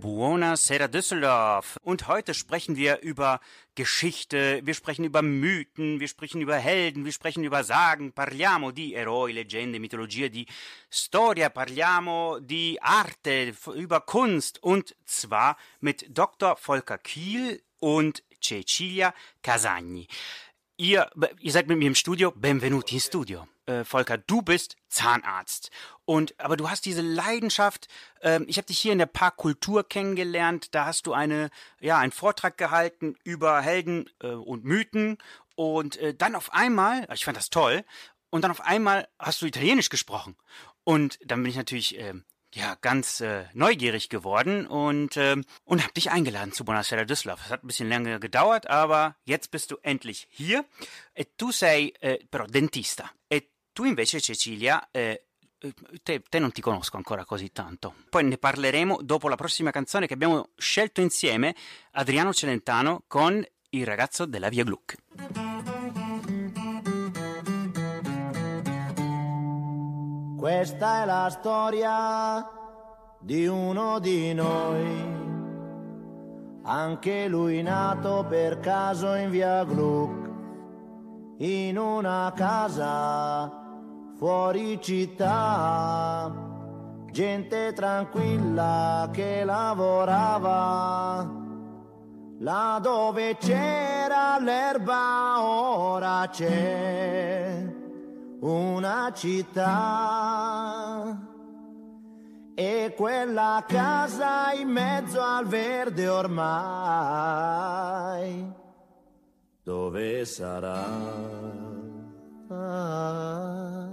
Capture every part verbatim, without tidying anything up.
Buonasera Düsseldorf. Und heute sprechen wir über Geschichte, wir sprechen über Mythen, wir sprechen über Helden, wir sprechen über Sagen, parliamo di eroi, leggende, mitologie, di storia, parliamo di arte, über Kunst und zwar mit Doktor Volker Kiel und Cecilia Casagni. Ihr, ihr seid mit mir im Studio, benvenuti in studio. Äh, Volker, du bist Zahnarzt. Und, aber du hast diese Leidenschaft, äh, ich habe dich hier in der Parkkultur kennengelernt, da hast du eine, ja, einen Vortrag gehalten über Helden äh, und Mythen und äh, dann auf einmal, ich fand das toll, und dann auf einmal hast du Italienisch gesprochen. Und dann bin ich natürlich, äh, ja, ganz äh, neugierig geworden und, äh, und habe dich eingeladen zu Buonasera Düsseldorf. Es hat ein bisschen länger gedauert, aber jetzt bist du endlich hier. E tu sei äh, però dentista. E tu invece, Cecilia, eh, te, te non ti conosco ancora così tanto. Poi ne parleremo dopo la prossima canzone che abbiamo scelto insieme, Adriano Celentano con Il ragazzo della via Gluck. Questa è la storia di uno di noi, anche lui nato per caso in via Gluck, in una casa fuori città, gente tranquilla che lavorava, là dove c'era l'erba ora c'è una città, e quella casa in mezzo al verde ormai, dove sarà? Ah,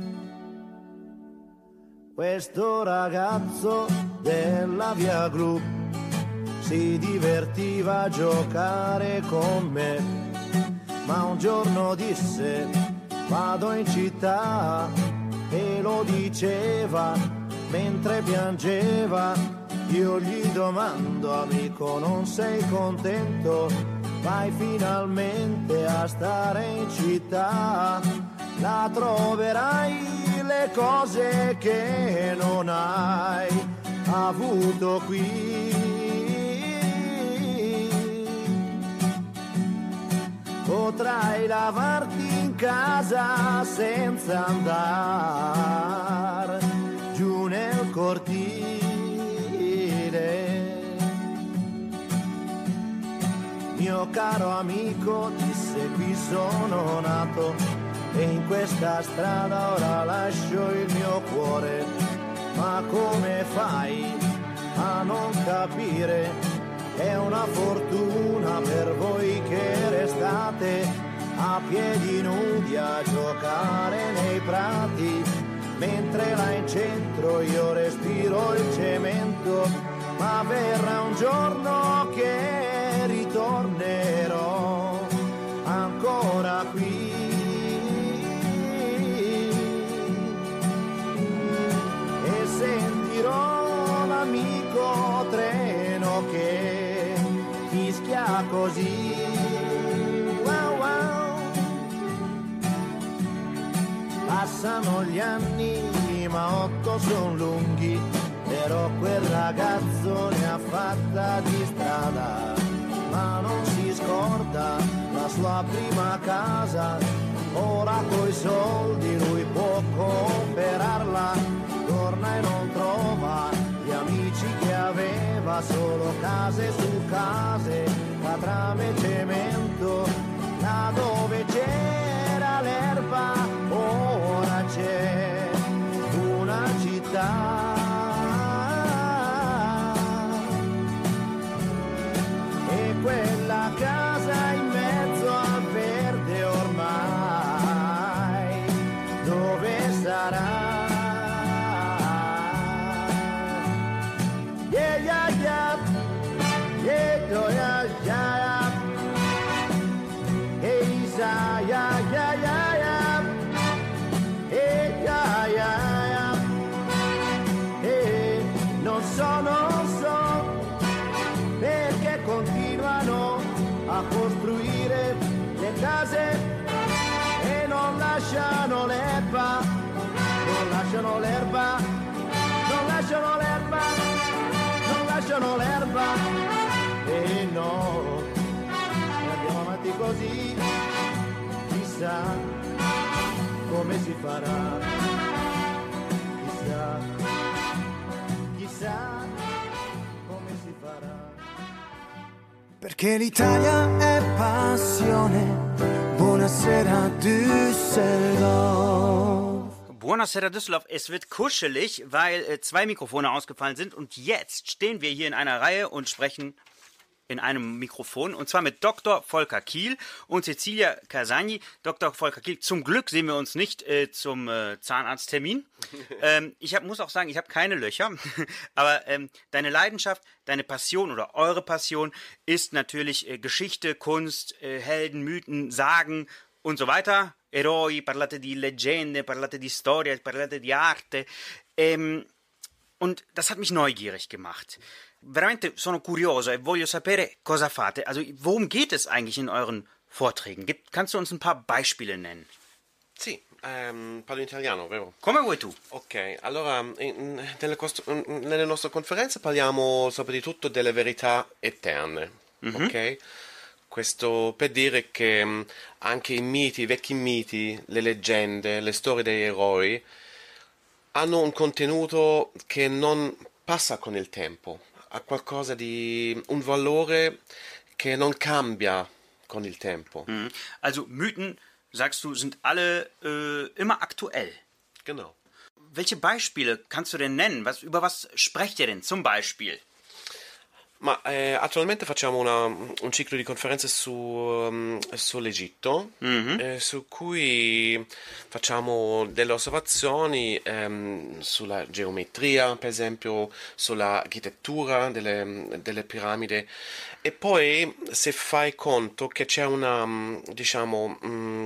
questo ragazzo della via Gluck si divertiva a giocare con me, ma un giorno disse: vado in città, e lo diceva mentre piangeva. Io gli domando: amico, non sei contento? Vai finalmente a stare in città, là troverai le cose che non hai avuto qui. Potrai lavarti in casa senza andare giù nel cortile. Mio caro amico, disse, qui sono nato e in questa strada ora lascio il mio cuore. Ma come fai a non capire? È una fortuna per voi che restate a piedi nudi a giocare nei prati, mentre là in centro io respiro il cemento. Ma verrà un giorno che ritornerò ancora qui, e sentirò l'amico treno che fischia così. Wow, wow. Passano gli anni, ma otto son lunghi, però quel ragazzo ne ha fatta di strada, ma non si scorda la sua prima casa. Ora coi soldi lui può comprarla, torna e non trova gli amici che aveva, solo case su case, catrame e cemento. Là dove c'era l'erba ora c'è una città, e quella casa in mezzo al verde ormai, dove sarà? Yeah, yeah, yeah, yeah, oh, yeah, yeah, hey, yeah, yeah, yeah, yeah, hey, yeah, yeah, yeah, hey, non so, non so perché continuano a costruire le case e non lasciano l'erba, non lasciano l'erba, non lasciano l'erba, non lasciano l'erba. va, e no, e andiamo avanti così, chissà come si farà, chissà, chissà come si farà. Perché l'Italia è passione, buonasera Düsseldorf. Buonasera Düsseldorf, es wird kuschelig, weil äh, zwei Mikrofone ausgefallen sind und jetzt stehen wir hier in einer Reihe und sprechen in einem Mikrofon und zwar mit Doktor Volker Kiel und Cecilia Casagni. Doktor Volker Kiel, zum Glück sehen wir uns nicht äh, zum äh, Zahnarzttermin. ähm, ich hab, muss auch sagen, ich habe keine Löcher, aber ähm, deine Leidenschaft, deine Passion oder eure Passion ist natürlich äh, Geschichte, Kunst, äh, Helden, Mythen, Sagen und so weiter. Eroi, parlate di leggende, parlate di storia, parlate di arte. Ähm, und das hat mich neugierig gemacht. Veramente sono curioso e voglio sapere cosa fate. Also, worum geht es eigentlich in euren Vorträgen? Gibt, kannst du uns ein paar Beispiele nennen? Sì, ehm, parlo in italiano, vero? Come vuoi tu? Ok, allora in- nelle, cost- nelle nostre conferenze parliamo soprattutto delle verità eterne, ok? Questo per dire che mh, anche i miti, i vecchi miti, le leggende, le storie degli eroi hanno un contenuto che non passa con il tempo, ha qualcosa di un valore che non cambia con il tempo. Mhm. Also, Mythen, sagst du, sind alle äh, immer aktuell. Genau. Welche Beispiele kannst du denn nennen? Was, über was sprecht ihr denn zum Beispiel? Ma eh, attualmente facciamo una- un ciclo di conferenze su, um, sull'Egitto, eh, su cui facciamo delle osservazioni ehm, sulla geometria, per esempio, sulla architettura delle, delle piramidi. E poi se fai conto che c'è una, mm, diciamo, mm,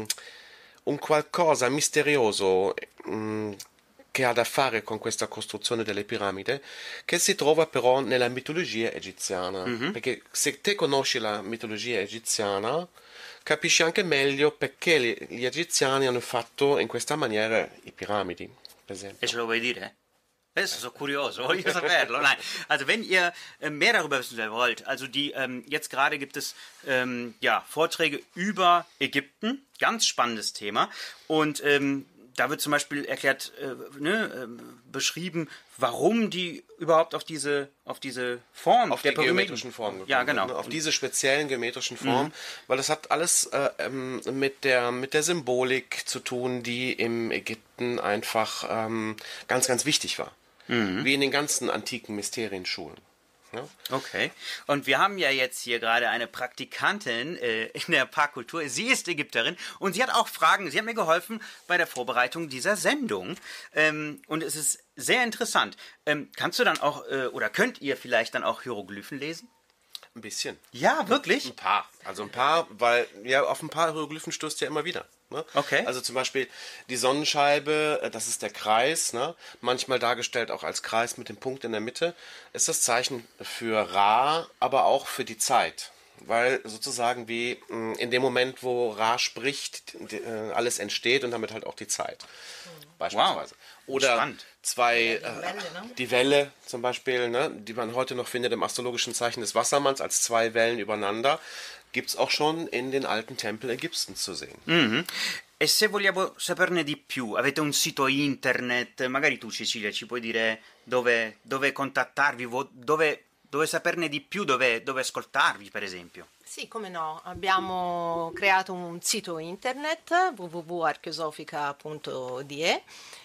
un qualcosa misterioso mm, che ha da fare con questa costruzione delle piramidi, che si trova però nella mitologia egiziana. Perché se te conosci la mitologia egiziana, capisci anche meglio perché gli, gli egiziani hanno fatto in questa maniera i piramidi, per esempio. E ce lo vuoi dire? Das ist so curioso, voglio saperlo. Nein, also wenn ihr äh, mehr darüber wissen wollt, also die ähm, jetzt gerade gibt es ähm, ja Vorträge über Ägypten, ganz spannendes Thema und ähm, da wird zum Beispiel erklärt, äh, ne, ähm, beschrieben, warum die überhaupt auf diese auf diese Form Auf der die Pyramiden- geometrischen Formen gekommen Ja, genau. sind, ne? Auf diese speziellen geometrischen Formen, weil das hat alles äh, ähm, mit der mit der Symbolik zu tun, die im Ägypten einfach ähm, ganz, ganz wichtig war. Wie in den ganzen antiken Mysterienschulen. Ja? Okay. Und wir haben ja jetzt hier gerade eine Praktikantin äh, in der Parkkultur. Sie ist Ägypterin und sie hat auch Fragen. Sie hat mir geholfen bei der Vorbereitung dieser Sendung. Ähm, und es ist sehr interessant. Ähm, kannst du dann auch, äh, oder könnt ihr vielleicht dann auch Hieroglyphen lesen? Ein bisschen. Ja, wirklich? Ein paar. Also ein paar, weil ja auf ein paar Hieroglyphen stößt ja immer wieder. Ne? Okay. Also zum Beispiel die Sonnenscheibe, äh, das ist der Kreis, ne? Manchmal dargestellt auch als Kreis mit dem Punkt in der Mitte, ist das Zeichen für Ra, aber auch für die Zeit. Weil sozusagen wie mh, in dem Moment, wo Ra spricht, die, äh, alles entsteht und damit halt auch die Zeit. Beispielsweise. Oder Spannend. zwei, äh, Welle, ne? die Welle zum Beispiel, ne, die man heute noch findet im astrologischen Zeichen des Wassermanns als zwei Wellen übereinander, gibt es auch schon in den alten Tempel Ägyptens zu sehen. Mhm. E se vogliamo saperne di più, avete un sito internet, magari tu Cecilia ci puoi dire dove, dove contattarvi, vo- dove, dove saperne di più, dove, dove ascoltarvi per esempio. Sì, come no, abbiamo creato un sito internet w w w punto archeosofica punto d e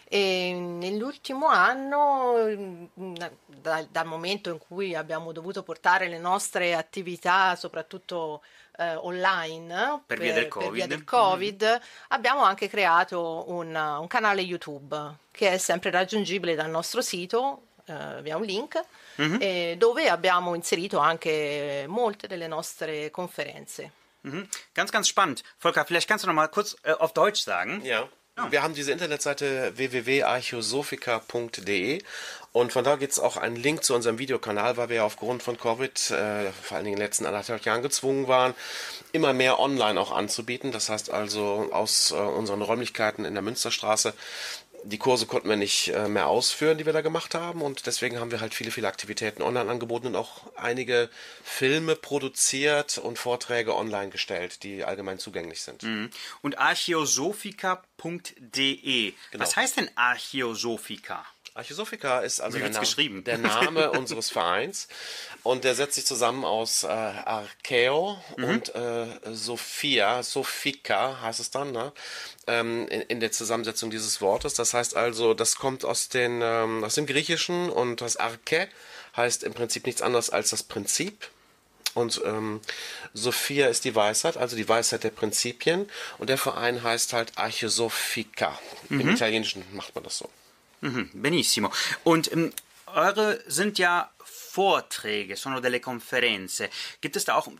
e nell'ultimo anno, mm, da- dal momento in cui abbiamo dovuto portare le nostre attività, soprattutto eh, online, Per via del per via Covid. del Covid, abbiamo anche creato un, un canale YouTube che è sempre raggiungibile dal nostro sito, eh, via un link, eh, dove abbiamo inserito anche molte delle nostre conferenze. Mhm. Ganz, ganz spannend. Volker, vielleicht kannst du noch mal kurz äh, auf Deutsch sagen. Ja. Wir haben diese Internetseite w w w punkt archeosofica punkt d e und von da gibt es auch einen Link zu unserem Videokanal, weil wir ja aufgrund von Covid, äh, vor allen Dingen in den letzten anderthalb Jahren gezwungen waren, immer mehr online auch anzubieten. Das heißt also aus äh, unseren Räumlichkeiten in der Münsterstraße die Kurse konnten wir nicht äh, mehr ausführen, die wir da gemacht haben, und deswegen haben wir halt viele, viele Aktivitäten online angeboten und auch einige Filme produziert und Vorträge online gestellt, die allgemein zugänglich sind. Mhm. Und archäosophica punkt de. Genau. Was heißt denn Archäosophica? Archäosophica ist also Wie der, wird's Na geschrieben? der Name unseres Vereins, und der setzt sich zusammen aus äh, Archäo mhm. und äh, Sophia, Sophica heißt es dann, ne? ähm, in, in der Zusammensetzung dieses Wortes. Das heißt also, das kommt aus, den, ähm, aus dem Griechischen, und das Arche heißt im Prinzip nichts anderes als das Prinzip. Und ähm, Sophia ist die Weisheit, also die Weisheit der Prinzipien, und der Verein heißt halt Archäosophica. Mhm. Im Italienischen macht man das so. Mhm, benissimo. Und ähm, eure sind ja Vorträge, sono delle conferenze. Gibt es da auch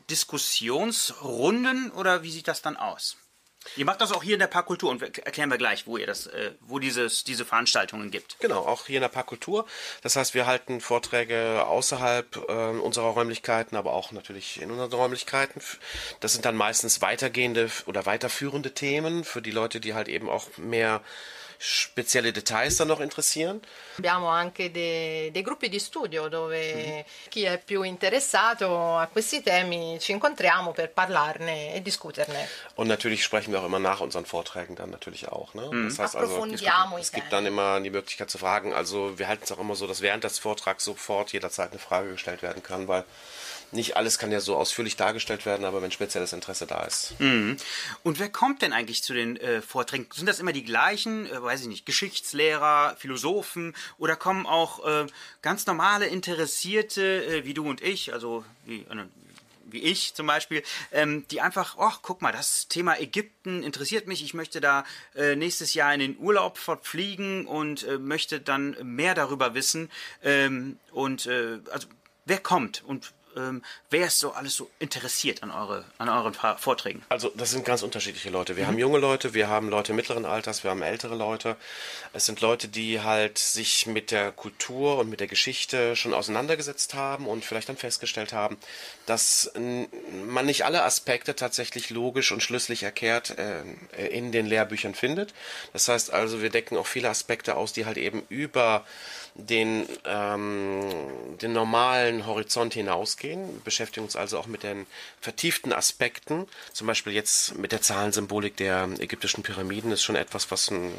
Diskussionsrunden oder wie sieht das dann aus? Ihr macht das auch hier in der Parkkultur, und erklären wir gleich, wo ihr das, äh, wo dieses, diese Veranstaltungen gibt. Genau, auch hier in der Parkkultur. Das heißt, wir halten Vorträge außerhalb äh, unserer Räumlichkeiten, aber auch natürlich in unseren Räumlichkeiten. Das sind dann meistens weitergehende oder weiterführende Themen für die Leute, die halt eben auch mehr spezielle Details dann noch interessieren. Abbiamo anche dei, dei gruppi di studio dove mm-hmm. chi è più interessato a questi temi ci incontriamo per parlarne e discuterne. Und natürlich sprechen wir auch immer nach unseren Vorträgen dann natürlich auch. Ne? Mm. Das heißt also, es gibt dann immer die Möglichkeit zu fragen. Also wir halten es auch immer so, dass während des Vortrags sofort jederzeit eine Frage gestellt werden kann, weil nicht alles kann ja so ausführlich dargestellt werden, aber wenn spezielles Interesse da ist. Mhm. Und wer kommt denn eigentlich zu den äh, Vorträgen? Sind das immer die gleichen, äh, weiß ich nicht, Geschichtslehrer, Philosophen, oder kommen auch äh, ganz normale Interessierte, äh, wie du und ich, also wie, äh, wie ich zum Beispiel, ähm, die einfach, ach, guck mal, das Thema Ägypten interessiert mich, ich möchte da äh, nächstes Jahr in den Urlaub verfliegen und äh, möchte dann mehr darüber wissen. Ähm, und äh, also wer kommt und Ähm, wer ist so alles so interessiert an, eure, an euren Vorträgen? Also das sind ganz unterschiedliche Leute. Wir mhm. haben junge Leute, wir haben Leute mittleren Alters, wir haben ältere Leute. Es sind Leute, die halt sich mit der Kultur und mit der Geschichte schon auseinandergesetzt haben und vielleicht dann festgestellt haben, dass man nicht alle Aspekte tatsächlich logisch und schlüssig erklärt äh, in den Lehrbüchern findet. Das heißt also, wir decken auch viele Aspekte aus, die halt eben über den, ähm, den normalen Horizont hinausgehen. Wir beschäftigen uns also auch mit den vertieften Aspekten, zum Beispiel jetzt mit der Zahlensymbolik der ägyptischen Pyramiden, ist schon etwas, was ein,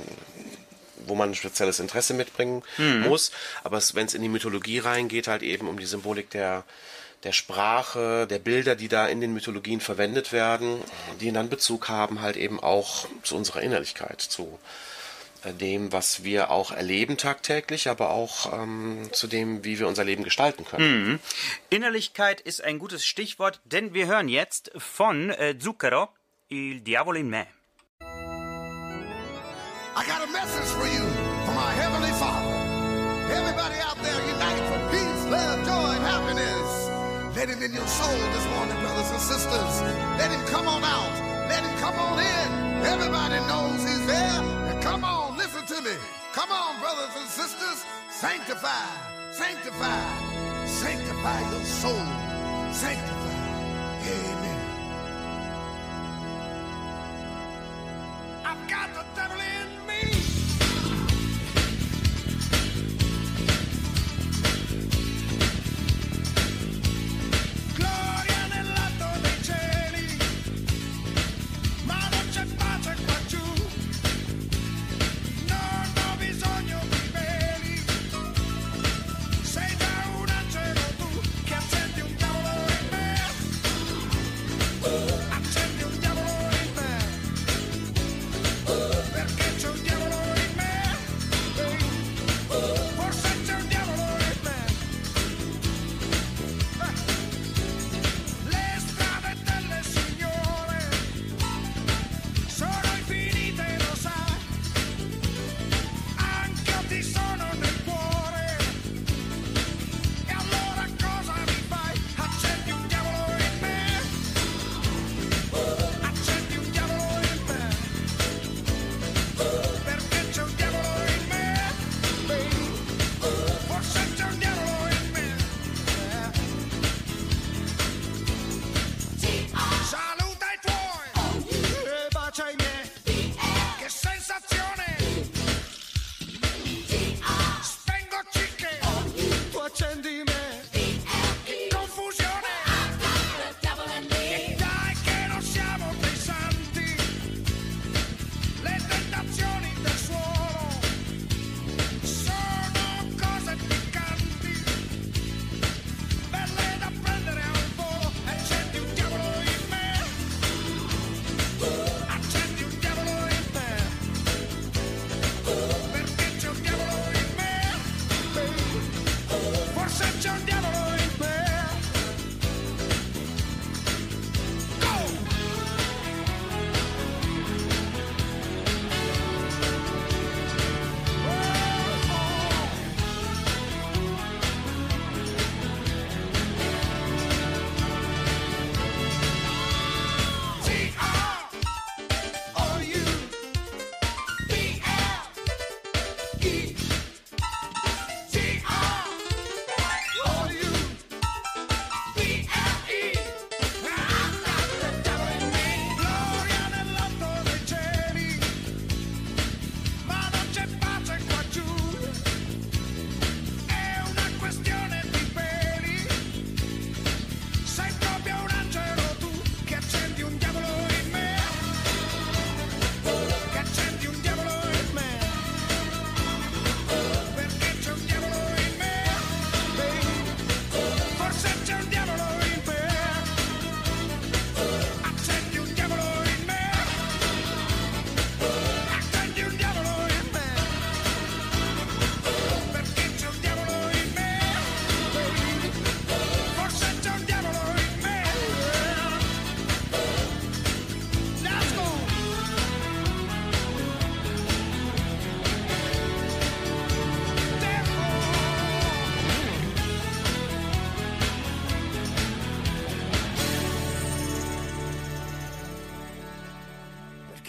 wo man ein spezielles Interesse mitbringen mhm. muss, aber wenn es in die Mythologie reingeht, halt eben um die Symbolik der der Sprache, der Bilder, die da in den Mythologien verwendet werden, die dann Bezug haben halt eben auch zu unserer Innerlichkeit, zu dem, was wir auch erleben tagtäglich, aber auch ähm, zu dem, wie wir unser Leben gestalten können. Mhm. Innerlichkeit ist ein gutes Stichwort, denn wir hören jetzt von äh, Zucchero, Il Diavolo in Me. I got a message for you from our Heavenly Father. Everybody out there, unite for peace, love, joy, and happiness. Let him in your soul this morning, brothers and sisters. Let him come on out. Let him come on in. Everybody knows he's there. And come on, listen to me. Come on, brothers and sisters. Sanctify, sanctify, sanctify your soul. Sanctify. Amen. I've got the devil in me. Sei già un angelo tu che accendi un diavolo in me.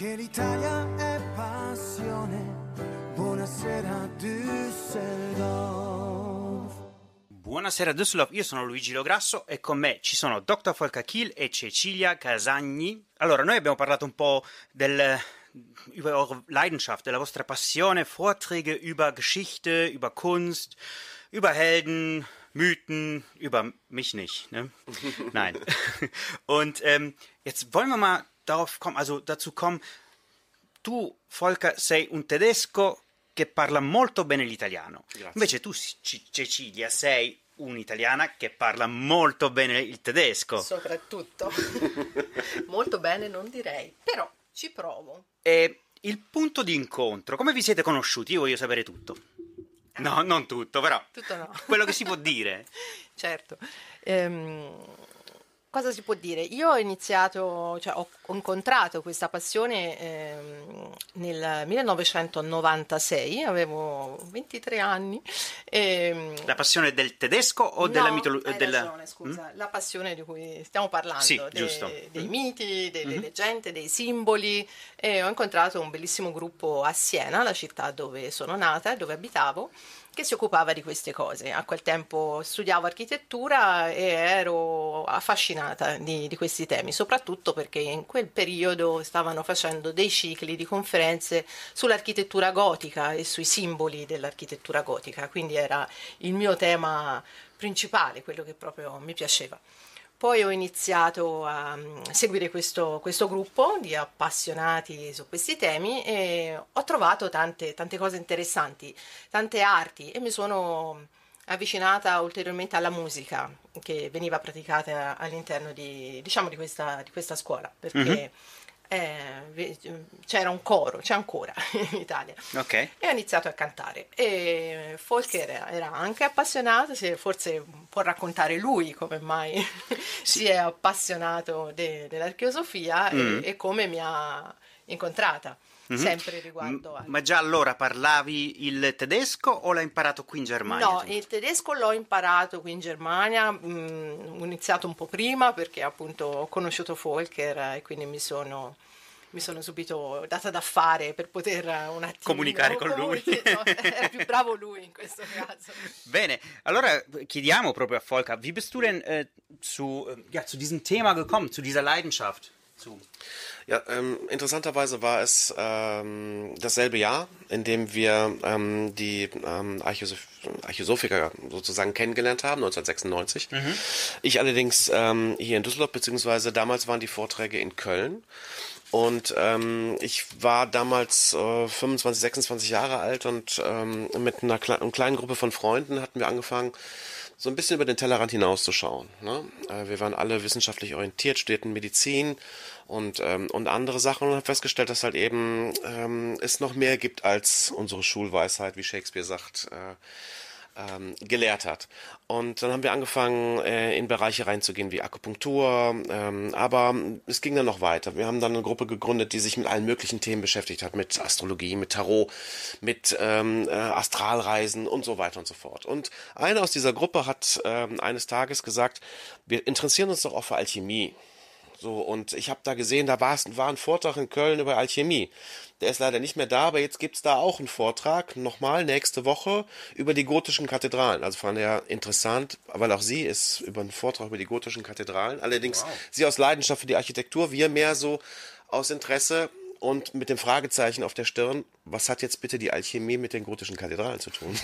Che l'Italia è passione. Buonasera Düsseldorf. Buonasera Düsseldorf, io sono Luigi Lograsso e con me ci sono doctor Volker Kiel e Cecilia Casagni. Allora, noi abbiamo parlato un po' del, über eure Leidenschaft, della vostra passione, Vorträge über Geschichte, über Kunst, über Helden, Mythen, über mich nicht, ne? Nein. Und ähm, jetzt wollen wir mal darauf kommen, also dazu kommen, tu, Volker, sei un tedesco che parla molto bene l'italiano. Grazie. Invece tu, C- Cecilia, sei un'italiana che parla molto bene il tedesco. Soprattutto. Molto bene non direi, però ci provo. E il punto di incontro, come vi siete conosciuti? Io voglio sapere tutto. No, non tutto, però Tutto no. quello che si può dire. Certo. Ehm, cosa si può dire? Io ho iniziato, cioè ho, ho incontrato questa passione ehm, nel millenovecentonovantasei, avevo ventitré anni. ehm, La passione del tedesco o no, della mitologia? hai ragione, scusa, la passione di cui stiamo parlando, Sì, de- giusto. dei Mm. miti, delle Mhm. leggende, dei simboli, e ho incontrato un bellissimo gruppo a Siena, la città dove sono nata e dove abitavo, che si occupava di queste cose. A quel tempo studiavo architettura e ero affascinata di, di questi temi, soprattutto perché in quel periodo stavano facendo dei cicli di conferenze sull'architettura gotica e sui simboli dell'architettura gotica, quindi era il mio tema principale, quello che proprio mi piaceva. Poi ho iniziato a mm, seguire questo, questo gruppo di appassionati su questi temi e ho trovato tante, tante cose interessanti, tante arti, e mi sono avvicinata ulteriormente alla musica che veniva praticata all'interno di, diciamo, di questa, di questa scuola, perché Mhm. eh, ve- c'era un coro, c'è ancora in Italia. Ok. E ho iniziato a cantare, e Volker era, era anche appassionato, se forse può raccontare lui come mai si è appassionato de- dell'archeosofia e- Mm. e, come mi ha incontrata, Mhm. sempre riguardo M- al... Ma già allora parlavi il tedesco o l'hai imparato qui in Germania? No, tu? il tedesco l'ho imparato qui in Germania, mm, ho iniziato un po' prima perché appunto ho conosciuto Volker e quindi mi sono, mi sono subito data da fare per poter un attimo Comunicare con lui. No, era più bravo lui in questo caso. Bene, allora chiediamo proprio a Volker, wie bist du denn äh, zu, äh, ja, zu diesem Thema gekommen, zu dieser Leidenschaft? Zu... Ja, ähm, interessanterweise war es ähm, dasselbe Jahr, in dem wir ähm, die ähm, Archäosoph Archäosophiker sozusagen kennengelernt haben, neunzehnhundertsechsundneunzig. Ich allerdings ähm, hier in Düsseldorf, beziehungsweise damals waren die Vorträge in Köln. Und ähm, ich war damals äh, fünfundzwanzig, sechsundzwanzig Jahre alt und ähm, mit einer, kle einer kleinen Gruppe von Freunden hatten wir angefangen, so ein bisschen über den Tellerrand hinauszuschauen. Ne? Äh, wir waren alle wissenschaftlich orientiert, studierten Medizin und, ähm, und andere Sachen und haben festgestellt, dass halt eben ähm, es noch mehr gibt als unsere Schulweisheit, wie Shakespeare sagt, äh, ähm, gelehrt hat. Und dann haben wir angefangen, äh, in Bereiche reinzugehen wie Akupunktur, ähm, aber es ging dann noch weiter. Wir haben dann eine Gruppe gegründet, die sich mit allen möglichen Themen beschäftigt hat, mit Astrologie, mit Tarot, mit ähm, äh, Astralreisen und so weiter und so fort. Und einer aus dieser Gruppe hat ähm, eines Tages gesagt, wir interessieren uns doch auch für Alchemie. So, und ich habe da gesehen, da war ein Vortrag in Köln über Alchemie. Der ist leider nicht mehr da, aber jetzt gibt's da auch einen Vortrag, nochmal nächste Woche, über die gotischen Kathedralen. Also fand er interessant, weil auch sie ist über einen Vortrag über die gotischen Kathedralen. Allerdings wow. Sie aus Leidenschaft für die Architektur, wir mehr so aus Interesse und mit dem Fragezeichen auf der Stirn, was hat jetzt bitte die Alchemie mit den gotischen Kathedralen zu tun?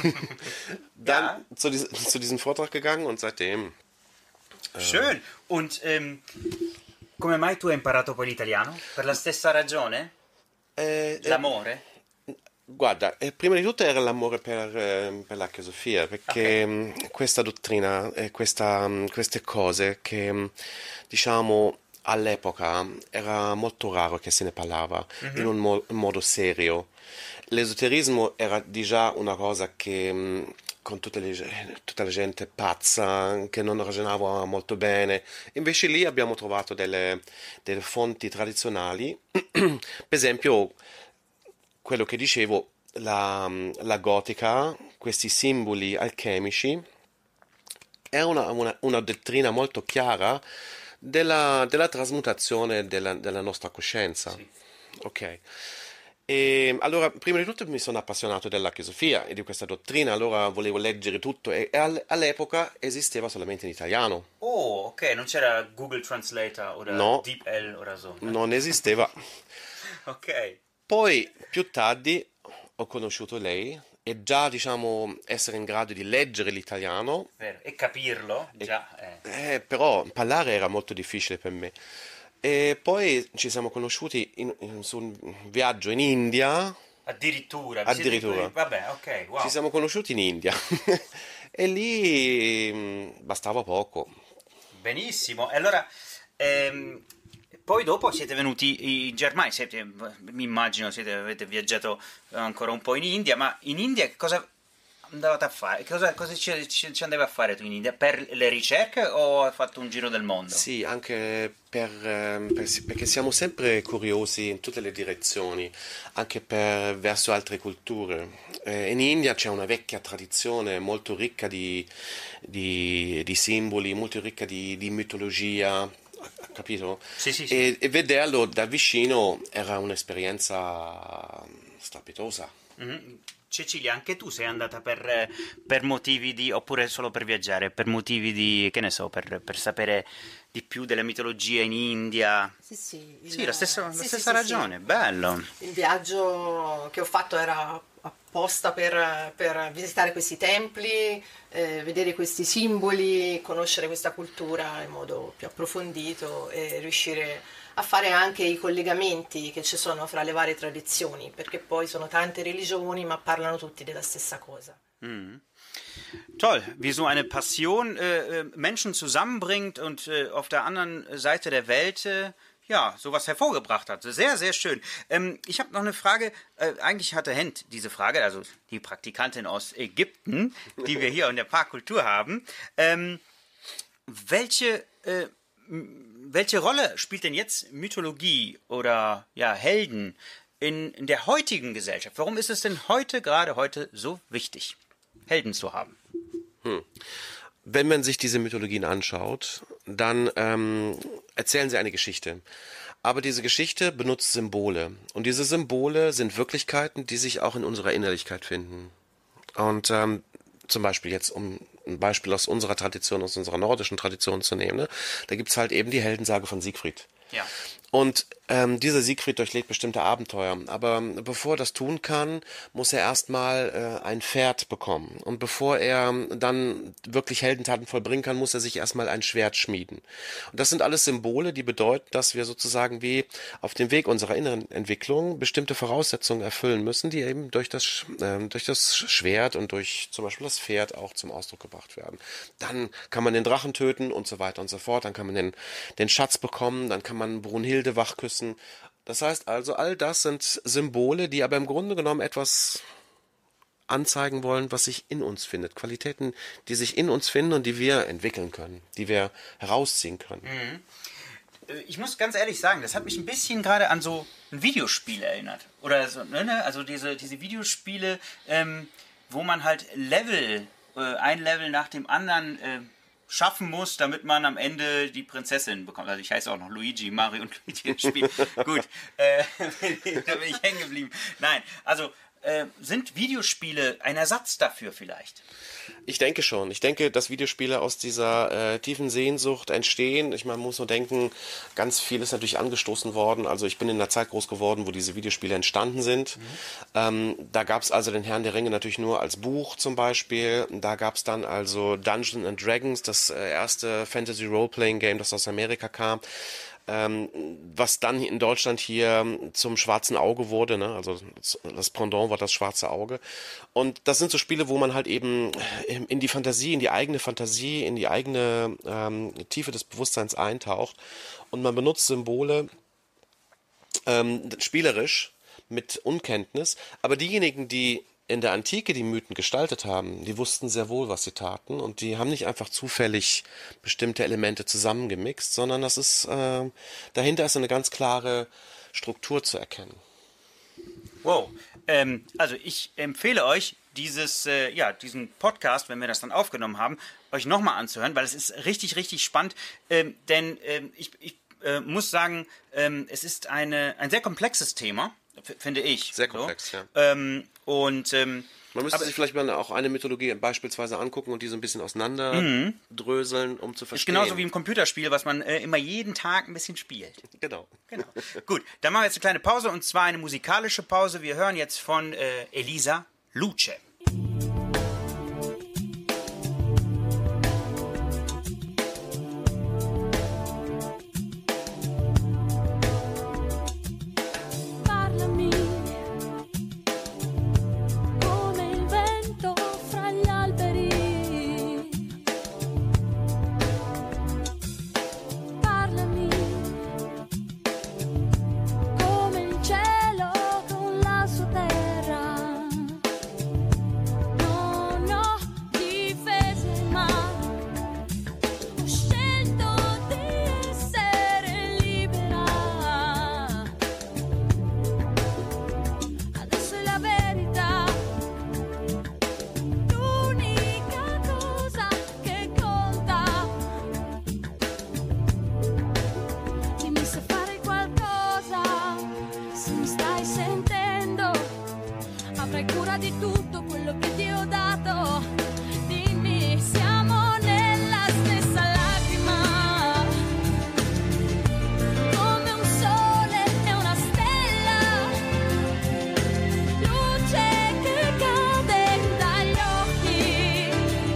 Dann ja. zu, dies, zu diesem Vortrag gegangen und seitdem... Äh, Schön. Und ähm, come mai tu hai imparato poi l'italiano? Per la stessa ragione? Eh, L'amore? Eh, guarda, eh, prima di tutto era l'amore per, eh, per l'archeosofia, perché okay. mh, questa dottrina, eh, questa, mh, queste cose che, mh, diciamo, all'epoca era molto raro che se ne parlava mm-hmm. in un mo- modo serio. L'esoterismo era di già una cosa che... Mh, con tutte le, tutta la gente pazza, che non ragionava molto bene. Invece lì abbiamo trovato delle, delle fonti tradizionali, per esempio quello che dicevo, la, la gotica, questi simboli alchemici, è una, una, una dottrina molto chiara della, della trasmutazione della, della nostra coscienza. Sì. Ok. E, allora, prima di tutto mi sono appassionato dell'archiosofia e di questa dottrina, allora volevo leggere tutto e, e all- all'epoca esisteva solamente in italiano. Oh, ok, non c'era Google Translator oder No. DeepL oder so. Ne? Non esisteva. Ok. Poi, più tardi, ho conosciuto lei e già, diciamo, essere in grado di leggere l'italiano, Vero. E capirlo, già. Eh. eh, però parlare era molto difficile per me. E poi ci siamo conosciuti in- in- su un viaggio in India. Addirittura. vi siete- Addirittura. Vabbè, ok, wow. Ci siamo conosciuti in India e lì mh, bastava poco. Benissimo. E allora, ehm, poi dopo siete venuti in Germania, siete, mi immagino siete, avete viaggiato ancora un po' in India, ma in India che cosa andavate a fare? Cosa, cosa ci, ci, ci andavi a fare tu in India? Per le ricerche o hai fatto un giro del mondo? Sì, anche per, ehm, per- perché siamo sempre curiosi in tutte le direzioni, anche per, verso altre culture. Eh, in India c'è una vecchia tradizione molto ricca di, di- di simboli, molto ricca di, di mitologia, capito? Sì, sì, sì. E, e vederlo da vicino era un'esperienza strepitosa. Mhm. Cecilia, anche tu sei andata per, eh, per motivi di, oppure solo per viaggiare, per motivi di, che ne so, per, per sapere di più della mitologia in India? Sì, sì. il- Sì, la stessa, la sì, sì, stessa sì, ragione, sì. bello. Il viaggio che ho fatto era apposta per, per visitare questi templi, eh, vedere questi simboli, conoscere questa cultura in modo più approfondito e riuscire a fare anche i collegamenti che ci sono fra le varie tradizioni, perché poi sono tante religioni ma parlano tutti della stessa cosa. Toll, wie so eine Passion äh, äh, Menschen zusammenbringt und äh, auf der anderen Seite der Welt äh, ja, sowas hervorgebracht hat. Sehr, sehr schön. Ähm, ich habe noch eine Frage. Äh, eigentlich hatte Hent diese Frage, also die Praktikantin aus Ägypten, die wir hier in der Parkkultur haben. Ähm, welche, äh, m- welche Rolle spielt denn jetzt Mythologie oder ja, Helden in, in der heutigen Gesellschaft? Warum ist es denn heute, gerade heute, so wichtig, Helden zu haben? Wenn man sich diese Mythologien anschaut, dann ähm, erzählen sie eine Geschichte. Aber diese Geschichte benutzt Symbole. Und diese Symbole sind Wirklichkeiten, die sich auch in unserer Innerlichkeit finden. Und ähm, zum Beispiel jetzt, um ein Beispiel aus unserer Tradition, aus unserer nordischen Tradition zu nehmen, ne? Da gibt's halt eben die Heldensage von Siegfried. Ja. Und ähm, dieser Siegfried durchlebt bestimmte Abenteuer. Aber ähm, bevor er das tun kann, muss er erstmal äh, ein Pferd bekommen. Und bevor er dann wirklich Heldentaten vollbringen kann, muss er sich erstmal ein Schwert schmieden. Und das sind alles Symbole, die bedeuten, dass wir sozusagen wie auf dem Weg unserer inneren Entwicklung bestimmte Voraussetzungen erfüllen müssen, die eben durch das, Sch- ähm, durch das Schwert und durch zum Beispiel das Pferd auch zum Ausdruck gebracht werden. Dann kann man den Drachen töten und so weiter und so fort. Dann kann man den, den Schatz bekommen, dann kann man Brunhilde wachküssen. Das heißt also, all das sind Symbole, die aber im Grunde genommen etwas anzeigen wollen, was sich in uns findet. Qualitäten, die sich in uns finden und die wir entwickeln können, die wir herausziehen können. Äh, Ich muss ganz ehrlich sagen, das hat mich ein bisschen gerade an so ein Videospiel erinnert. Oder so, ne? Also diese, diese Videospiele, ähm, wo man halt Level, äh, ein Level nach dem anderen äh, schaffen muss, damit man am Ende die Prinzessin bekommt. Also ich heiße auch noch Luigi, Mario und Luigi im Spiel. Gut, äh, da bin ich hängen geblieben. Nein, also äh, sind Videospiele ein Ersatz dafür vielleicht? Ich denke schon. Ich denke, dass Videospiele aus dieser äh, tiefen Sehnsucht entstehen. Ich meine, man muss nur denken, ganz viel ist natürlich angestoßen worden. Also ich bin in einer Zeit groß geworden, wo diese Videospiele entstanden sind. Mhm. Ähm, da gab es also den Herrn der Ringe natürlich nur als Buch zum Beispiel. Da gab es dann also Dungeons and Dragons, das äh, erste Fantasy Role-Playing Game, das aus Amerika kam. Ähm, was dann in Deutschland hier zum schwarzen Auge wurde, ne? Also das Pendant war das schwarze Auge. Und das sind so Spiele, wo man halt eben in die Fantasie, in die eigene Fantasie, in die eigene ähm, Tiefe des Bewusstseins eintaucht. Und man benutzt Symbole ähm, spielerisch mit Unkenntnis. Aber diejenigen, die in der Antike die Mythen gestaltet haben, die wussten sehr wohl, was sie taten, und die haben nicht einfach zufällig bestimmte Elemente zusammengemixt, sondern das ist äh, dahinter ist eine ganz klare Struktur zu erkennen. Wow. Ähm, also ich empfehle euch, dieses, äh, ja, diesen Podcast, wenn wir das dann aufgenommen haben, euch nochmal anzuhören, weil es ist richtig, richtig spannend. Ähm, denn ähm, ich, ich äh, muss sagen, ähm, es ist eine, ein sehr komplexes Thema, f- finde ich. Sehr komplex, so. ja. Ähm, und ähm, Man müsste aber sich vielleicht mal auch eine Mythologie beispielsweise angucken und die so ein bisschen auseinanderdröseln, um zu ist verstehen. genauso wie im Computerspiel, was man äh, immer jeden Tag ein bisschen spielt. Genau. Genau. Gut, dann machen wir jetzt eine kleine Pause, und zwar eine musikalische Pause. Wir hören jetzt von äh, Elisa Luce. Parlami come il vento fra gli alberi. Parlami come il cielo con la sua terra. Non ho difese mai, ho scelto di essere libera. Adesso è la verità, l'unica cosa che conta. Dimmi se fare qualcosa, se mi stai sentendo, avrai cura di tutto quello che ti ho dato. Dimmi, siamo nella stessa lacrima, come un sole e una stella, luce che cade dagli occhi,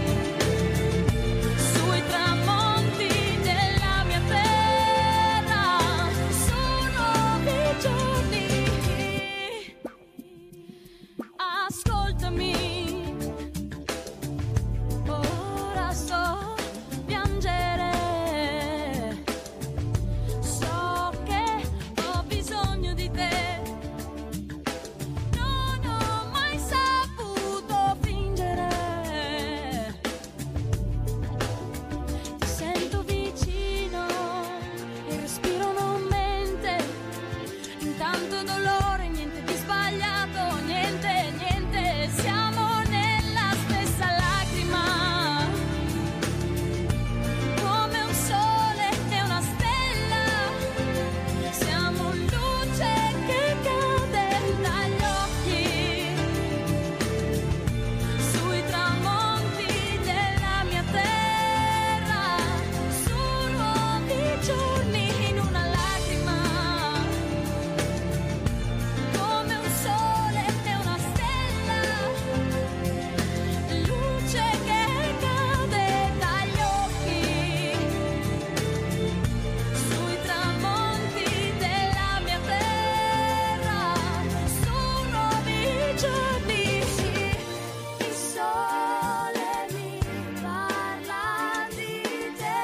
sui tramonti della mia terra. Sono nuovi giorni. Ascoltami, ora so piangere. So che ho bisogno di te. Non ho mai saputo fingere. Ti sento vicino, il respiro non mente. Intanto dolore, niente di sbagliato, niente, niente. Siamo nella stessa lacrima, come un sole e una stella. Siamo luce che cade dagli occhi, sui tramonti della mia terra. Su nuovi giorni in una lacrima, come un sole e una stella, luce che cade dagli occhi, sui tramonti della mia terra. Su nuovi giorni, il sole mi parla di te.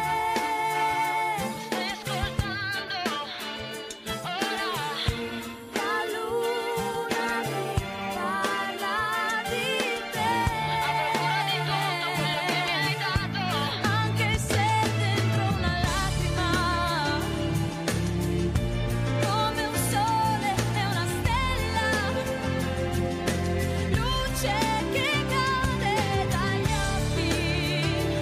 Ascoltando ora, la luna mi parla di te. Anche se dentro una lacrima, come un sole e una stella, luce che cade dagli occhi,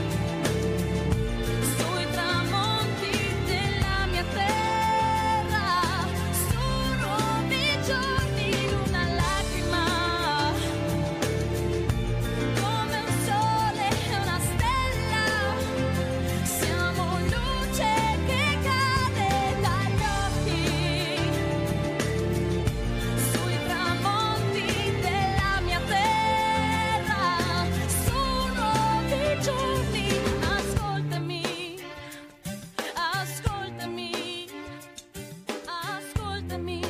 sui tramonti della mia terra. Su nuovi giorni in una lacrima, come un sole e una stella. Siamo luce che cade dagli occhi, sui tramonti della mia terra. Su nuovi giorni, ascoltami, ascoltami, ascoltami,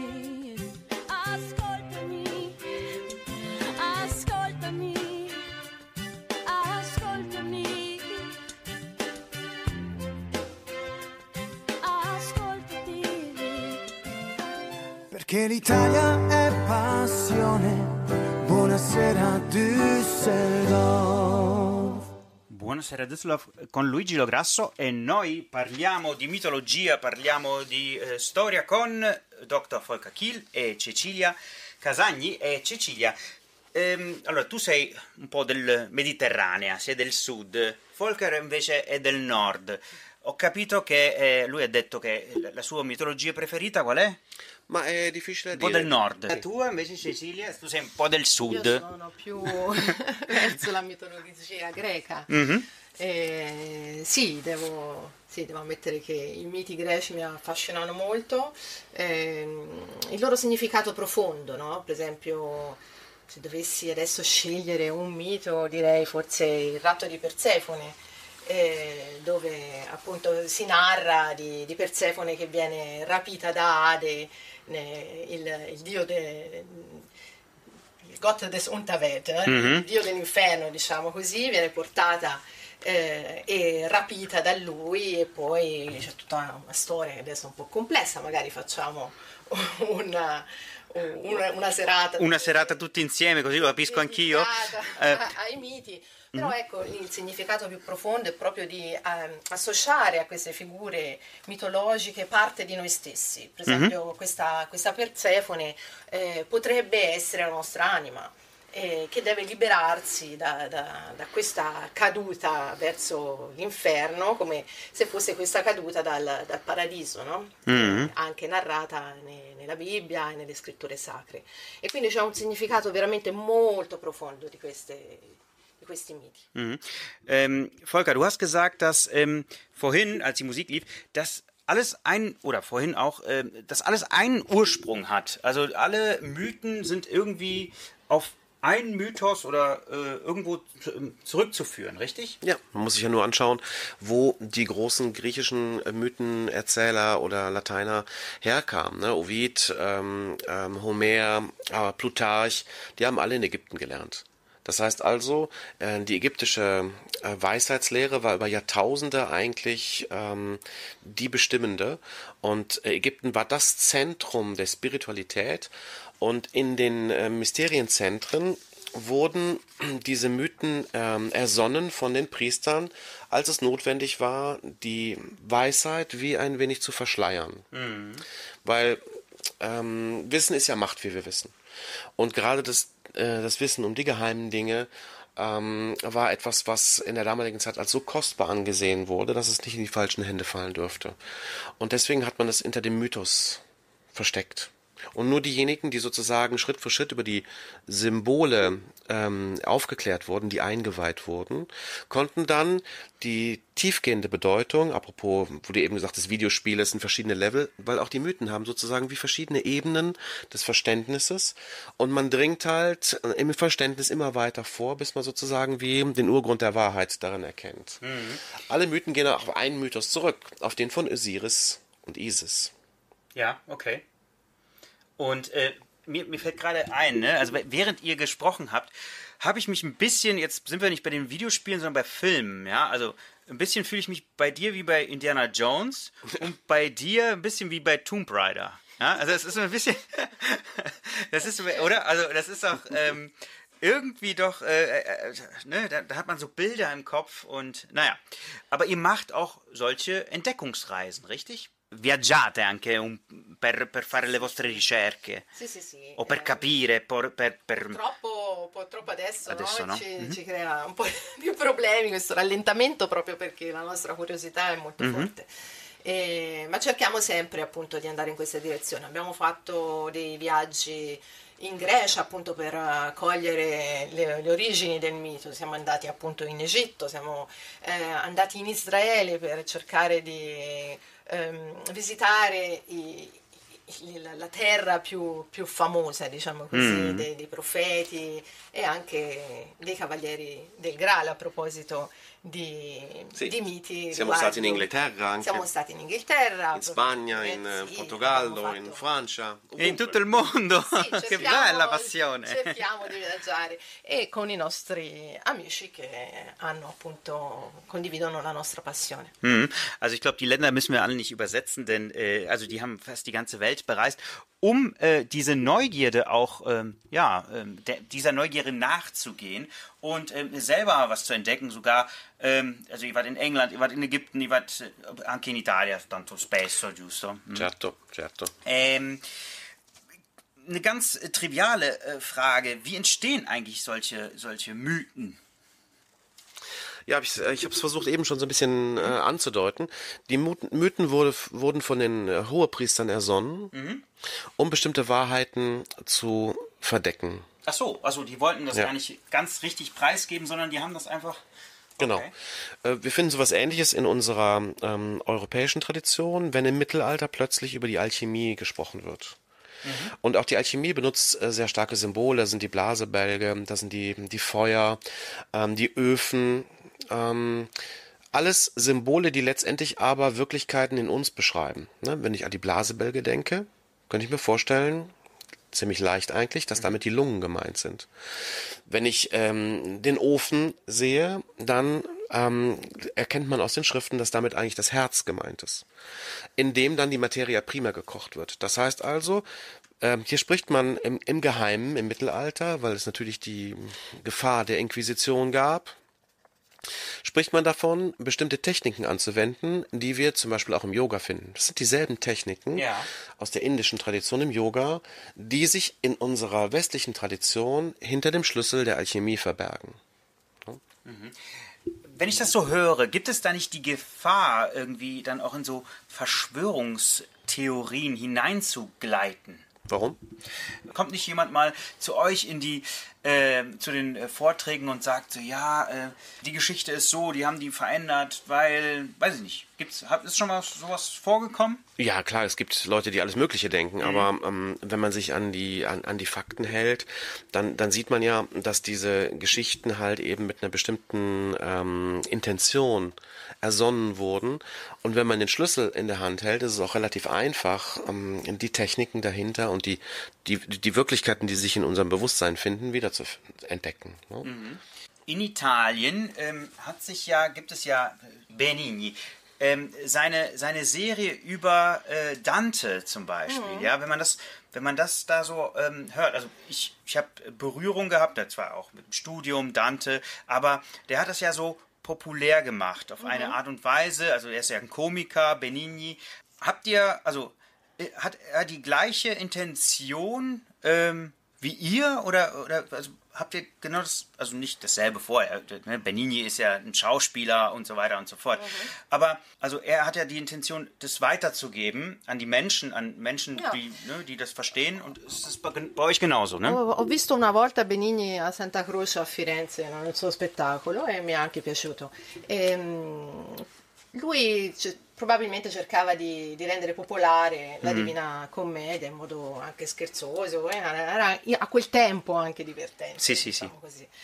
ascoltami, ascoltami, ascoltami, ascoltati. Perché l'Italia è passione. Buonasera Düsseldorf. Buonasera Düsseldorf con Luigi Lograsso, e noi parliamo di mitologia, parliamo di eh, storia con dottor Volker Kiel e Cecilia Casagni. E Cecilia, ehm, allora tu sei un po' del Mediterranea, sei del sud, Volker invece è del nord. Ho capito che eh, lui ha detto che la sua mitologia preferita qual è? Ma è difficile Un da po' dire. del nord. La tua invece Cecilia, tu sei un po' del sud. Io sono più verso la mitologia greca. Mm-hmm. Eh, sì, devo, sì, devo ammettere che i miti greci mi affascinano molto. Eh, il loro significato profondo, no? Per esempio, se dovessi adesso scegliere un mito, direi forse il ratto di Persefone. Eh, dove appunto si narra di, di Persefone che viene rapita da Ade, ne, il, il dio de, il Gott des Unterwelt, eh, Mm-hmm. il dio dell'inferno, diciamo così, viene portata eh, e rapita da lui, e poi c'è tutta una, una storia che adesso è un po' complessa, magari facciamo una, una, una serata Una serata tutti insieme, così lo capisco anch'io. dedicata Eh, ai miti. Però ecco, il significato più profondo è proprio di ehm, associare a queste figure mitologiche parte di noi stessi. Per esempio questa, questa Persefone eh, potrebbe essere la nostra anima, eh, che deve liberarsi da, da- da questa caduta verso l'inferno, come se fosse questa caduta dal, dal paradiso, no? Mhm. Eh, anche narrata ne- nella Bibbia e nelle scritture sacre. E quindi c'è un significato veramente molto profondo di queste di questi miti. Mhm. Ähm, Volker, du hast gesagt, dass ähm, vorhin, als die Musik lief, dass alles ein, oder vorhin auch, ähm, dass alles einen Ursprung hat. Also alle Mythen sind irgendwie auf einen Mythos oder äh, irgendwo zu- zurückzuführen, richtig? Ja, man muss sich ja nur anschauen, wo die großen griechischen äh, Mythenerzähler oder Lateiner herkamen. Ne? Ovid, ähm, ähm, Homer, äh, Plutarch, die haben alle in Ägypten gelernt. Das heißt also, äh, die ägyptische äh, Weisheitslehre war über Jahrtausende eigentlich ähm, die bestimmende. Und äh, Ägypten war das Zentrum der Spiritualität. Und in den äh, Mysterienzentren wurden diese Mythen ähm, ersonnen von den Priestern, als es notwendig war, die Weisheit wie ein wenig zu verschleiern. Weil ähm, Wissen ist ja Macht, wie wir wissen. Und gerade das, äh, das Wissen um die geheimen Dinge ähm, war etwas, was in der damaligen Zeit als so kostbar angesehen wurde, dass es nicht in die falschen Hände fallen dürfte. Und deswegen hat man es hinter dem Mythos versteckt. Und nur diejenigen, die sozusagen Schritt für Schritt über die Symbole ähm, aufgeklärt wurden, die eingeweiht wurden, konnten dann die tiefgehende Bedeutung, apropos, wo du eben gesagt hast, Videospiele sind verschiedene Level, weil auch die Mythen haben sozusagen wie verschiedene Ebenen des Verständnisses, und man dringt halt im Verständnis immer weiter vor, bis man sozusagen wie den Urgrund der Wahrheit darin erkennt. Alle Mythen gehen auf einen Mythos zurück, auf den von Osiris und Isis. Ja, okay. Und äh, mir, mir fällt gerade ein, ne? Also während ihr gesprochen habt, habe ich mich ein bisschen, jetzt sind wir nicht bei den Videospielen, sondern bei Filmen, ja, also ein bisschen fühle ich mich bei dir wie bei Indiana Jones und bei dir ein bisschen wie bei Tomb Raider. Ja, also es ist so ein bisschen, das ist, oder? Also das ist auch ähm, irgendwie doch, äh, äh, ne, da, da hat man so Bilder im Kopf und naja. Aber ihr macht auch solche Entdeckungsreisen, richtig? Viaggiate anche un, per, per fare le vostre ricerche Sì, sì, sì. o per eh, capire, por- per, per... Troppo, purtroppo adesso, Adesso no? no. Ci, Mhm. ci crea un po' di problemi questo rallentamento, proprio perché la nostra curiosità è molto forte. E- ma cerchiamo sempre appunto di andare in questa direzione. Abbiamo fatto dei viaggi in Grecia appunto per eh, cogliere le, le origini del mito. Siamo andati appunto in Egitto, siamo eh, andati in Israele per cercare di ehm, visitare i- i- la, la terra più, più famosa, diciamo così, Mm. dei, dei profeti e anche dei cavalieri del Graal, a proposito di, Sì. di miti. Siamo riguardo- stati in Inghilterra anche. Siamo stati in Inghilterra, In Spagna, eh, in eh, sì, Portogallo, abbiamo in fatto- Francia. E in tutto il mondo, Sì, che cerchiamo- bella passione. Cerchiamo di viaggiare e con i nostri amici che hanno appunto condividono la nostra passione. Mhm. Also ich glaube, die Länder müssen wir alle nicht übersetzen, denn äh, also die haben fast die ganze Welt bereist, um äh, diese Neugierde auch, ähm, ja, ähm, der, dieser Neugierde nachzugehen und ähm, selber was zu entdecken, sogar, ähm, also ihr wart in England, ihr wart in Ägypten, ihr wart äh, anche in Italia, tanto spesso, giusto? Mhm. Certo, certo. Ähm, eine ganz äh, triviale äh, Frage, wie entstehen eigentlich solche, solche Mythen? Ja, ich, ich habe es versucht eben schon so ein bisschen äh, anzudeuten. Die Mythen wurde, wurden von den äh, Hohepriestern ersonnen, mhm. um bestimmte Wahrheiten zu verdecken. Ach so, also die wollten das ja. gar nicht ganz richtig preisgeben, sondern die haben das einfach... Genau. Okay. Wir finden sowas Ähnliches in unserer ähm, europäischen Tradition, wenn im Mittelalter plötzlich über die Alchemie gesprochen wird. Mhm. Und auch die Alchemie benutzt äh, sehr starke Symbole. Da sind die Blasebälge, da sind die, die Feuer, ähm, die Öfen. Ähm, alles Symbole, die letztendlich aber Wirklichkeiten in uns beschreiben. Ne? Wenn ich an die Blasebälge denke, könnte ich mir vorstellen, ziemlich leicht eigentlich, dass damit die Lungen gemeint sind. Wenn ich ähm, den Ofen sehe, dann ähm, erkennt man aus den Schriften, dass damit eigentlich das Herz gemeint ist, in dem dann die Materia prima gekocht wird. Das heißt also, ähm, hier spricht man im, im Geheimen, im Mittelalter, weil es natürlich die Gefahr der Inquisition gab, spricht man davon, bestimmte Techniken anzuwenden, die wir zum Beispiel auch im Yoga finden. Das sind dieselben Techniken ja. aus der indischen Tradition im Yoga, die sich in unserer westlichen Tradition hinter dem Schlüssel der Alchemie verbergen. Ja? Mhm. Wenn ich das so höre, gibt es da nicht die Gefahr, irgendwie dann auch in so Verschwörungstheorien hineinzugleiten? Warum? Kommt nicht jemand mal zu euch in die äh, zu den äh, Vorträgen und sagt so, ja, äh, die Geschichte ist so, die haben die verändert, weil, weiß ich nicht, gibt's, hat, ist schon mal sowas vorgekommen? Ja, klar, es gibt Leute, die alles Mögliche denken, mhm. aber ähm, wenn man sich an die an, an die Fakten hält, dann dann sieht man ja, dass diese Geschichten halt eben mit einer bestimmten ähm, Intention ersonnen wurden. Und wenn man den Schlüssel in der Hand hält, ist es auch relativ einfach, ähm, die Techniken dahinter und die, die, die Wirklichkeiten, die sich in unserem Bewusstsein finden, wieder zu entdecken. Ne? In Italien ähm, hat sich ja, gibt es ja Benigni, ähm, seine, seine Serie über äh, Dante zum Beispiel. Mhm. Ja, wenn man das, wenn man das da so ähm, hört, also ich, ich habe Berührung gehabt, das war auch mit dem Studium Dante, aber der hat das ja so populär gemacht, auf mhm. eine Art und Weise, also er ist ja ein Komiker, Benigni. Habt ihr, also hat er die gleiche Intention ähm, wie ihr oder, oder also habt ihr genau das, also nicht dasselbe vor, ne? Benigni ist ja ein Schauspieler und so weiter und so fort, mhm. aber also er hat ja die Intention, das weiterzugeben an die Menschen, an Menschen, ja. die, ne, die das verstehen und ist das bei, bei euch genauso, ne? Ho, ho visto una volta Benigni a Santa Croce a Firenze nel suo spettacolo e mi è anche piaciuto. Ehm, lui c- probabilmente cercava di, di rendere popolare la mm. Divina Commedia in modo anche scherzoso, eh? era a quel tempo anche divertente. Sì, sì, diciamo sì. Così.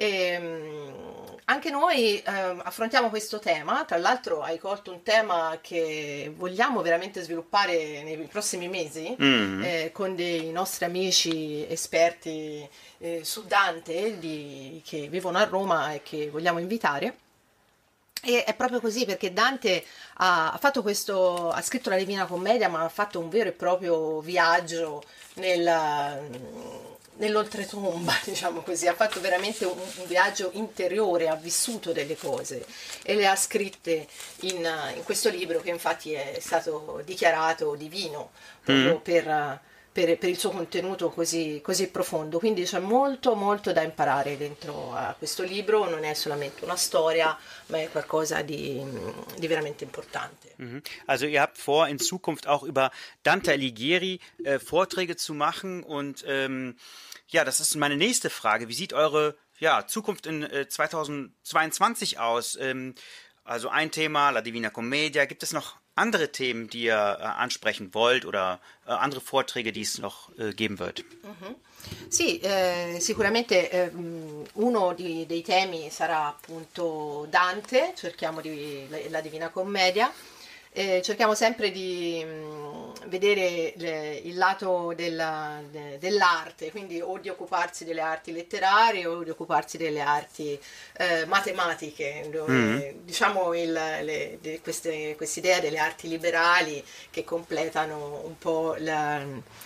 E, anche noi eh, affrontiamo questo tema, tra l'altro hai colto un tema che vogliamo veramente sviluppare nei prossimi mesi mm. eh, con dei nostri amici esperti eh, su Dante di, che vivono a Roma e che vogliamo invitare. E è proprio così, perché Dante ha, ha fatto questo, ha scritto la Divina Commedia, ma ha fatto un vero e proprio viaggio nel, nell'oltretomba, diciamo così, ha fatto veramente un, un viaggio interiore, ha vissuto delle cose e le ha scritte in, in questo libro che infatti è stato dichiarato divino proprio mm. per... Per, per il suo contenuto così, così profondo, quindi c'è molto molto da imparare dentro a questo libro, non è solamente una storia, ma è qualcosa di, di veramente importante. Also ihr habt vor, in Zukunft auch über Dante Alighieri äh, Vorträge zu machen und ähm, ja, das ist meine nächste Frage. Wie sieht eure ja, Zukunft in äh, zweitausendzweiundzwanzig aus? Ähm, also ein Thema, La Divina Commedia, gibt es noch andere Themen, die ihr äh, ansprechen wollt oder äh, andere Vorträge, die es noch äh, geben wird? Mm-hmm. Sì, eh, sicuramente eh, uno di, dei temi sarà appunto Dante, cerchiamo di, la, la Divina Commedia. Eh, cerchiamo sempre di mh, vedere le, il lato della, de, dell'arte, quindi o di occuparsi delle arti letterarie o di occuparsi delle arti eh, matematiche, dove, mm. diciamo il, le, de, queste, quest'idea delle arti liberali che completano un po' la,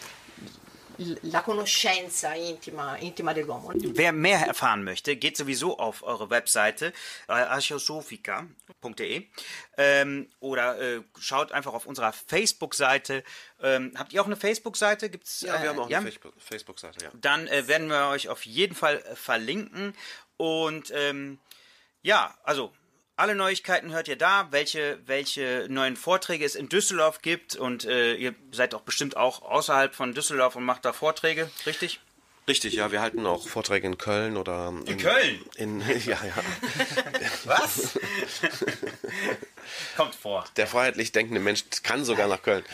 la conoscenza intima, intima dell'uomo. Wer mehr erfahren möchte, geht sowieso auf eure Webseite äh, archosophica punkt de ähm, oder äh, schaut einfach auf unserer Facebook-Seite. Ähm, habt ihr auch eine Facebook-Seite? Gibt's, ja, wir äh, haben auch ja? eine Facebook-Seite, ja. Dann äh, werden wir euch auf jeden Fall äh, verlinken und ähm, Ja, also alle Neuigkeiten hört ihr da, welche, welche neuen Vorträge es in Düsseldorf gibt und äh, ihr seid doch bestimmt auch außerhalb von Düsseldorf und macht da Vorträge, richtig? Richtig, ja, wir halten auch Vorträge in Köln oder... In, in Köln? In, ja, ja. Was? Kommt vor. Der freiheitlich denkende Mensch kann sogar nach Köln.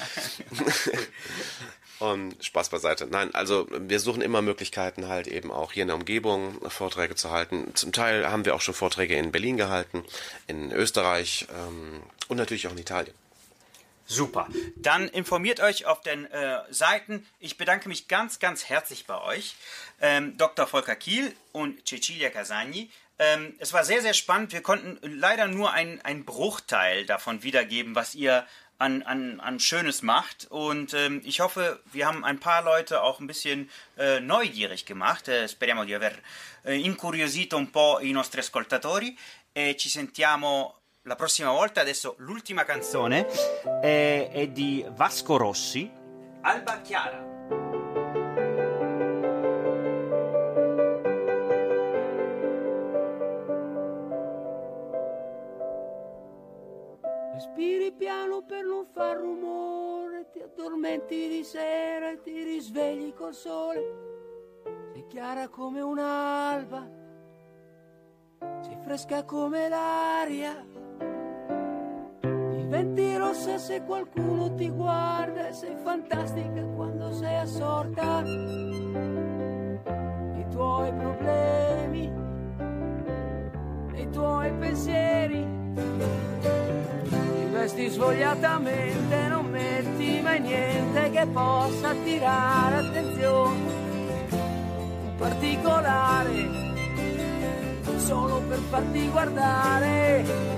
Und Spaß beiseite. Nein, also wir suchen immer Möglichkeiten halt eben auch hier in der Umgebung Vorträge zu halten. Zum Teil haben wir auch schon Vorträge in Berlin gehalten, in Österreich ähm, und natürlich auch in Italien. Super. Dann informiert euch auf den äh, Seiten. Ich bedanke mich ganz, ganz herzlich bei euch, ähm, Doktor Volker Kiel und Cecilia Casagni. Ähm, es war sehr, sehr spannend. Wir konnten leider nur einen, einen Bruchteil davon wiedergeben, was ihr An, an, an Schönes macht und ähm, ich hoffe, wir haben ein paar Leute auch ein bisschen äh, neugierig gemacht, eh, speriamo di aver eh, incuriosito un po' i nostri ascoltatori e ci sentiamo la prossima volta. Adesso l'ultima canzone è, è di Vasco Rossi, Alba Chiara. Respiri piano per non far rumore, ti addormenti di sera e ti risvegli col sole. Sei chiara come un'alba, sei fresca come l'aria. Diventi rossa se qualcuno ti guarda e sei fantastica quando sei assorta. I tuoi problemi, i tuoi pensieri. Vesti svogliatamente, non metti mai niente che possa attirare attenzione. Un particolare, solo per farti guardare.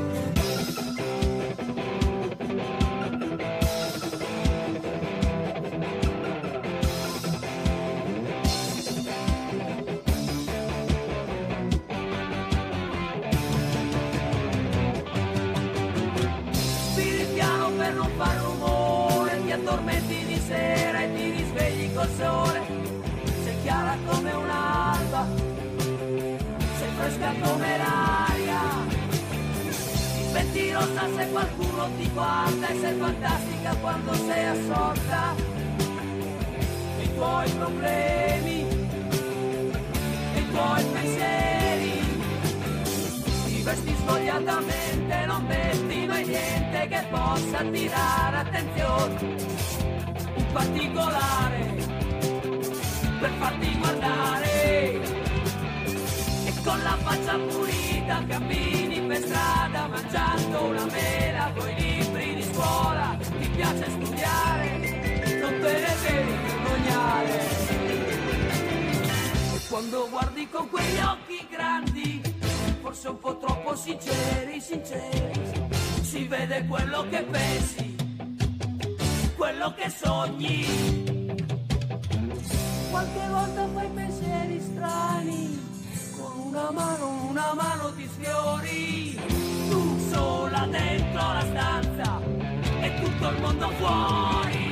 Dormenti di sera e ti risvegli col sole. Sei chiara come un'alba, sei fresca come l'aria. Diventi rossa se qualcuno ti guarda e sei fantastica quando sei assorta. I tuoi problemi, i tuoi pensieri. Ti vesti svogliatamente, non metti mai niente che possa attirare attenzione. Un particolare per farti guardare. E con la faccia pulita cammini per strada mangiando una mela coi libri di scuola. Ti piace studiare, non te ne devi vergognare. E quando guardi con quegli occhi grandi, forse un po' troppo sinceri, sinceri, si vede quello che pensi, quello che sogni. Qualche volta fai pensieri strani, con una mano, una mano ti sfiori. Tu sola dentro la stanza e tutto il mondo fuori.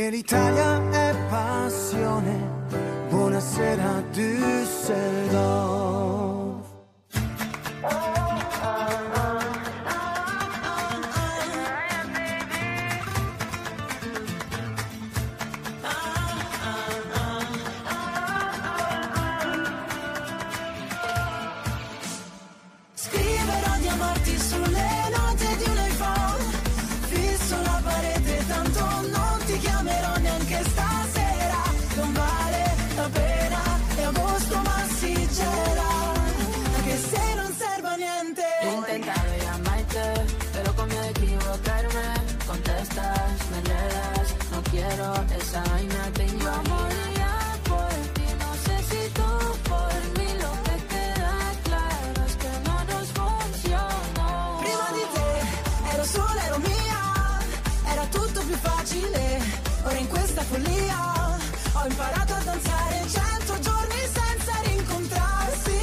Perché l'Italia è passione. Buonasera Düsseldorf. Scriverò di amarti sulle note di un iPhone, fisso la parete, tanto non ti chiamerò neanche stasera. Non vale la pena, è agosto ma si gela, anche se non serve a niente. He intentado llamarte, pero con miedo a equivocarme. Contestas, me enredas, no quiero esa vaina, te yo moría por ti. No sé si tú por mí, lo que queda claro es que no nos funcionó. Prima di te ero sola, ero mia, era tutto più facile. Ora in questa follia ho imparato a danzare cento giorni senza rincontrarsi.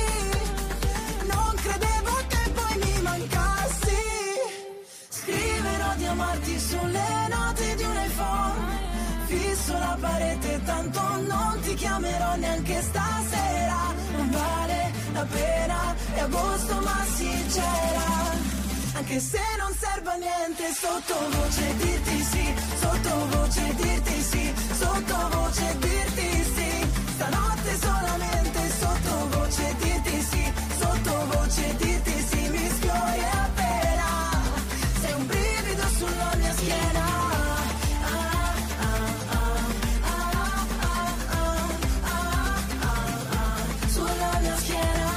Non credevo che poi mi mancassi. Scriverò di amarti sulle note di un iPhone, fisso la parete, tanto non ti chiamerò neanche stasera. Non vale la pena, è agosto ma si gela, anche se non serve a niente. Sottovoce dirti sì, sottovoce dirti sì, sottovoce dirti sì. Stanotte solamente sottovoce dirti sì, sottovoce dirti sì. Mi sfiori appena, sei un brivido sulla mia schiena. Ah, ah, ah, ah, ah, ah, ah, ah, sulla mia schiena.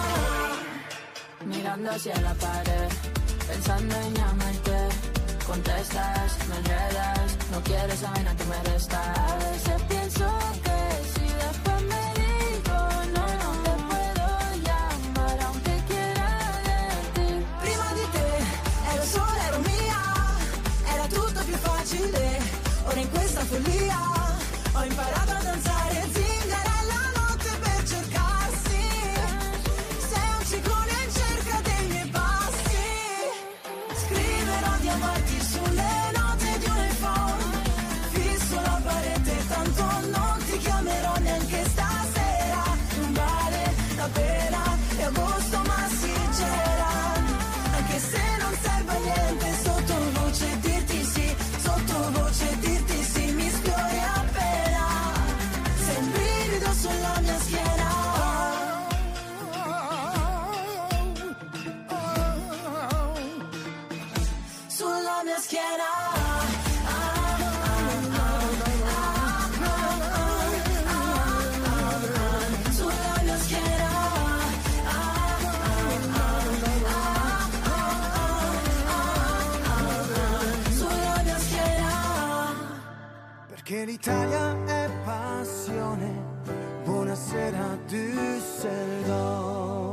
Mirando hacia la pared, pensando en llamarte. Contestas, me enredas, no quieres esa vaina que me resta. A veces pienso que si después me digo no, no te puedo llamar aunque quiera de ti. Prima di te ero sola, ero mia, era tutto più facile. Ora in questa follia ho imparato a danzare zingarella notte per cercarsi. Sei un ciclone in cerca dei miei passi. Scriverò di amarti sulle note di un iPhone, fisso la parete, tanto non ti chiamerò neanche stasera. Non vale la pena, è agosto ma si gela, anche se non serve a niente. Sottovoce dirti sì, sottovoce dirti sì. Mi sfiori appena, sei un brivido sulla mia schiena. Sulla mia schiena. Sulla mia schiena. Sulla mia schiena. Perché l'Italia è passione. Buonasera Düsseldorf.